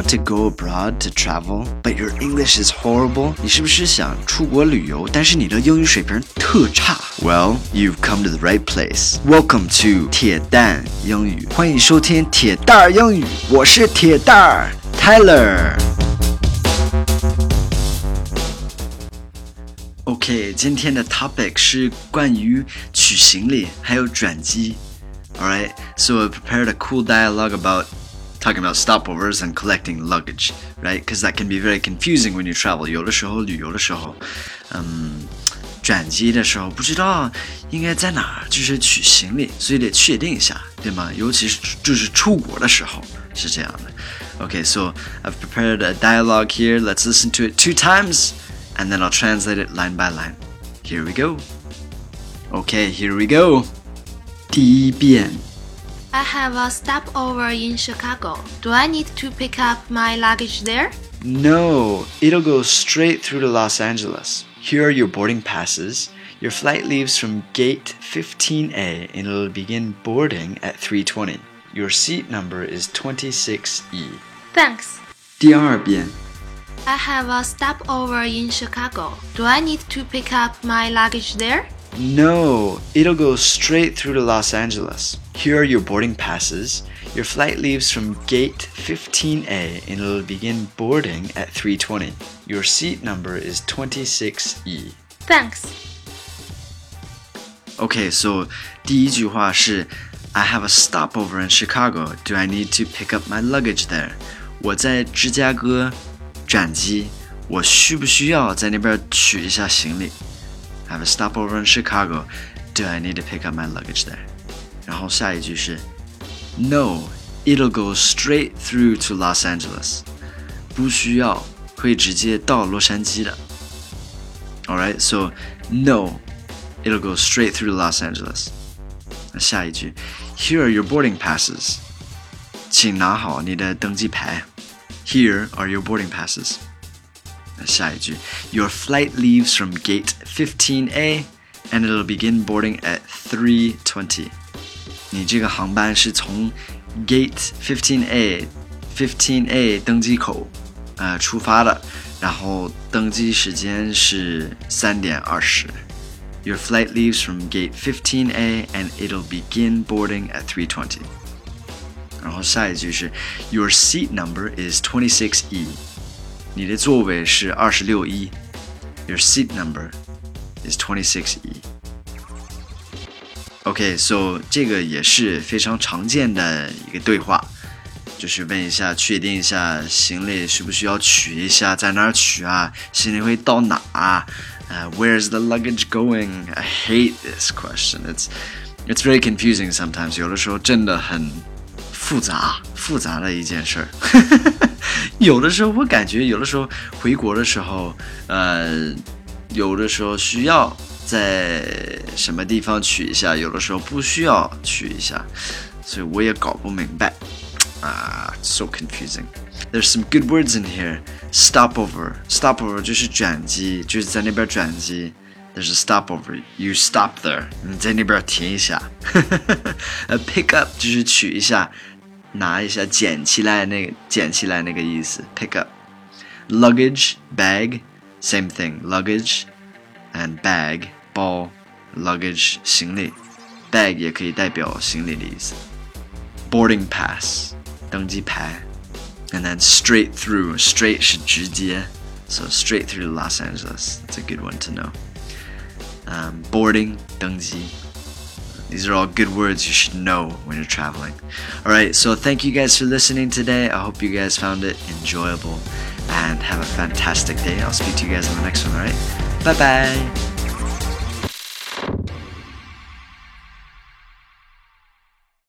want to go abroad to travel, but your English is horrible? 你是不是想出国旅游，但是你的英语水平特差？ Well, you've come to the right place. Welcome to 铁蛋英语，欢迎收听铁蛋儿英语，我是铁蛋儿 Tyler。OK， 今天的 topic 是关于取行李还有转机。Alright, so I prepared a cool dialogue about talking about stopovers and collecting luggage, right? Because that can be very confusing when you travel. 有的时候旅游的时候，转机的时候不知道应该在哪儿，就是取行李，所以得确定一下，对吗？尤其是就是出国的时候是这样的。Okay, so I've prepared a dialogue here. Let's listen to it 2 times, and then I'll translate it line by line. Here we go. Okay, here we go. 第一遍 I have a stopover in Chicago. Do I need to pick up my luggage there? No, it'll go straight through to Los Angeles. Here are your boarding passes. Your flight leaves from gate 15A and it'll begin boarding at 3:20. Your seat number is 26E. Thanks. 第二遍 I have a stopover in Chicago. Do I need to pick up my luggage there? No, it'll go straight through to Los Angeles. Here are your boarding passes. Your flight leaves from gate 15A and it'll begin boarding at 3:20. Your seat number is 26E. Thanks. Okay, so 第一句话是 I have a stopover in Chicago. Do I need to pick up my luggage there? 我在芝加哥转机，我需不需要在那边取一下行李？I have a stopover in Chicago. Do I need to pick up my luggage there? 然后下一句是 No, it'll go straight through to Los Angeles. 不需要，会直接到洛杉矶的。Alright, so no, it'll go straight through to Los Angeles. 那下一句 Here are your boarding passes. 请拿好你的登机牌。Here are your boarding passes.下一句 Your flight leaves from gate 15A and it'll begin boarding at 3:20. 你这个航班是从 gate 15A 登机口出发的，然后登机时间是3:20. Your flight leaves from gate 15A and it'll begin boarding at 3:20. 然后下一句是 Your seat number is 26E.你的座位是26E. Your seat number is 26E. Okay, so 这个也是非常常见的一个对话，就是问一下，确定一下行李需不需要取一下，在哪儿取啊？行李会到哪？Where's the luggage going? I hate this question. It's very confusing sometimes. 有的时候真的很复杂的一件事儿。有的时候我感觉，有的时候回国的时候，有的時候需要在什麼地方取一下，有的時候不需要取一下，所以我也搞不明白。So confusing. There's some good words in here. Stopover 就是转機，就是在那邊轉機。There's a stopover. You stop there. 你在那邊停一下。Pick up 就是取一下。拿一下，捡起来那个意思 pick up. Luggage, bag, same thing. Luggage and bag, 包 luggage 行李 bag 也可以代表行李的意思。Boarding pass 登机牌 and then straight through, straight 是直接 so straight through to Los Angeles. That's a good one to know. Boarding 登机These are all good words you should know when you're traveling. Alright, so thank you guys for listening today. I hope you guys found it enjoyable and have a fantastic day. I'll speak to you guys on the next one, alright? Bye-bye!